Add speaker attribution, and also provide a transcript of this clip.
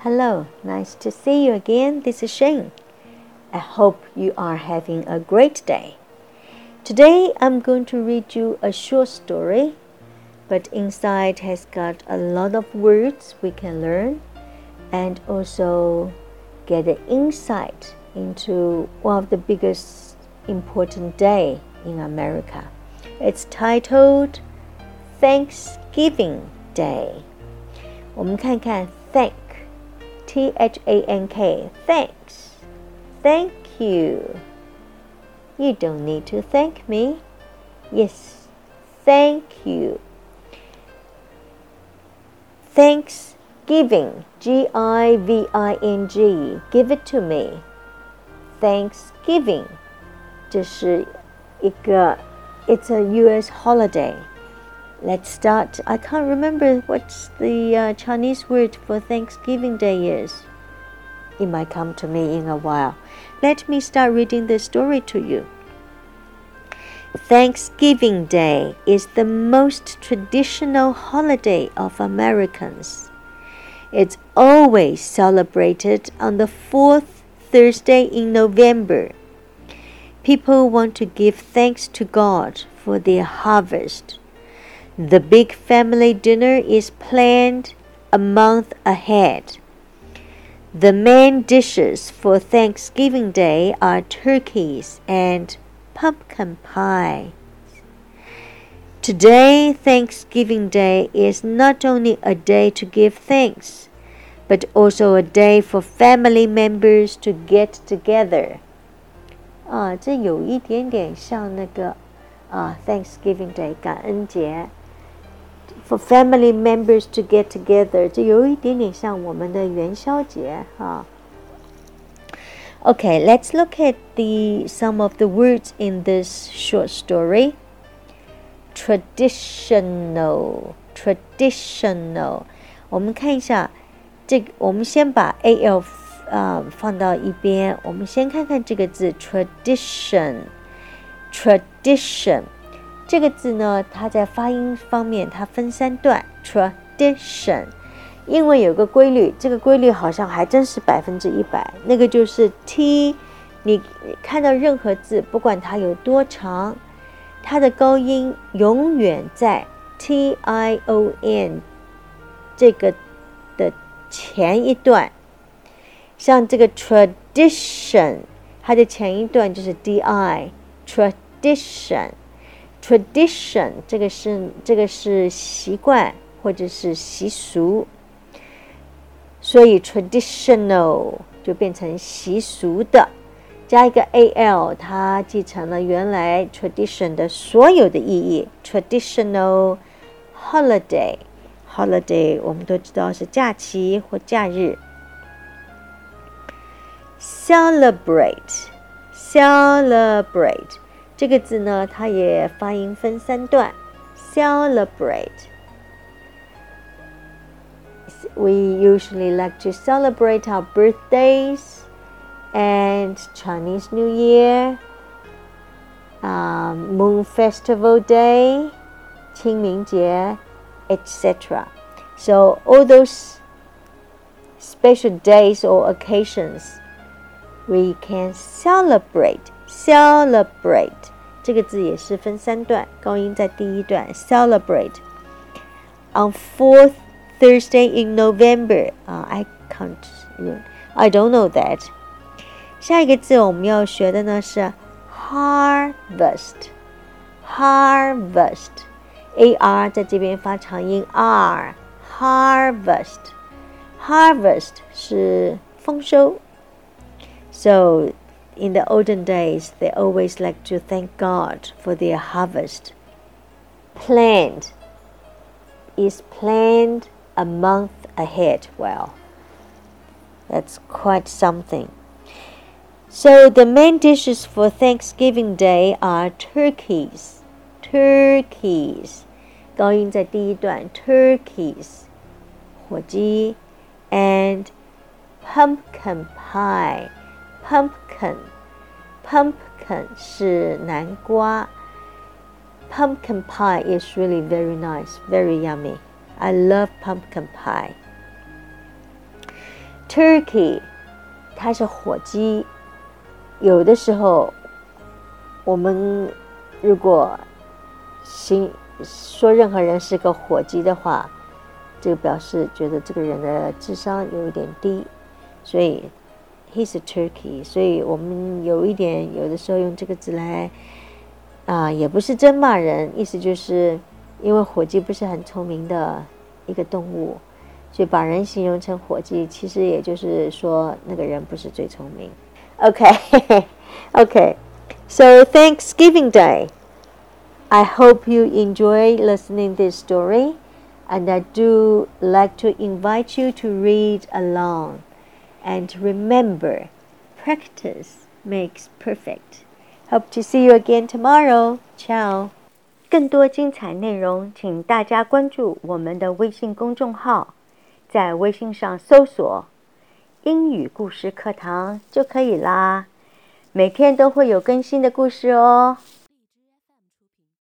Speaker 1: Hello, nice to see you again. This is Shane. I hope you are having a great day. Today I'm going to read you a short story, but inside has got a lot of words we can learn and also get an insight into one of the biggest important day in America. It's titled Thanksgiving Day. 我们看看 thank, T-H-A-N-K, thanks, thank you. You don't need to thank me. Yes, thank you. Thanksgiving, G-I-V-I-N-G, give it to me. Thanksgiving, 这是一个 it's a US holiday. Let's start. I can't remember what the Chinese word for Thanksgiving Day is. It might come to me in a while. Let me start reading the story to you. Thanksgiving Day is the most traditional holiday of Americans. It's always celebrated on the fourth Thursday in November. People want to give thanks to God for their harvest.The big family dinner is planned a month ahead. The main dishes for Thanksgiving Day are turkeys and pumpkin pie. Today, Thanksgiving Day is not only a day to give thanks, but also a day for family members to get together. 这有一点点像那个Thanksgiving Day 感恩节。For family members to get together, 这有一点点像我们的元宵节Okay, let's look at some of the words in this short story. Traditional. 我们看一下这个，我们先把 al 放到一边，我们先看看这个字 tradition。这个字呢，它在发音方面它分三段 tradition， 因为有个规律，这个规律好像还真是100%，那个就是 t， 你看到任何字不管它有多长，它的高音永远在 tion 这个的前一段，像这个 tradition 它的前一段就是 di tradition， 这个是习惯或者是习俗，所以 traditional 就变成习俗的，加一个 al， 它继承了原来 tradition 的所有的意义。traditional holiday 我们都知道是假期或假日。celebrate 这个字呢，它也发音分三段 celebrate. We usually like to celebrate our birthdays and Chinese New Year, Moon Festival Day, 清明节 etc. So all those special days or occasions we can celebrate. 这个字也是分三段，高音在第一段 celebrate. On fourth Thursday in November, I don't know that. 下一个字我们要学的呢是 harvest. AR 在这边发长音 R. Harvest 是丰收。So in the olden days, they always like to thank God for their harvest. Planned is planned a month ahead. Well, that's quite something. So the main dishes for Thanksgiving Day are turkeys. 高音在第一段 turkeys 火鸡 and pumpkin pie. Pumpkin 是南瓜 Pumpkin pie is really very nice, very yummy. I love pumpkin pie. turkey 它是火鸡。有的时候我们如果说任何人是个火鸡的话，这个表示觉得这个人的智商有一点低，所以 he's a turkey。 所以我们有的时候用这个字来也不是真骂人，意思就是因为火鸡不是很聪明的一个动物，所以把人形容成火鸡，其实也就是说那个人不是最聪明。Okay, so Thanksgiving Day. I hope you enjoy listening this story, and I do like to invite you to read along. And remember, practice makes perfect. Hope to see you again tomorrow. Ciao.
Speaker 2: 更多精彩内容，请大家关注我们的微信公众号，在微信上搜索英语故事课堂就可以啦。每天都会有更新的故事哦。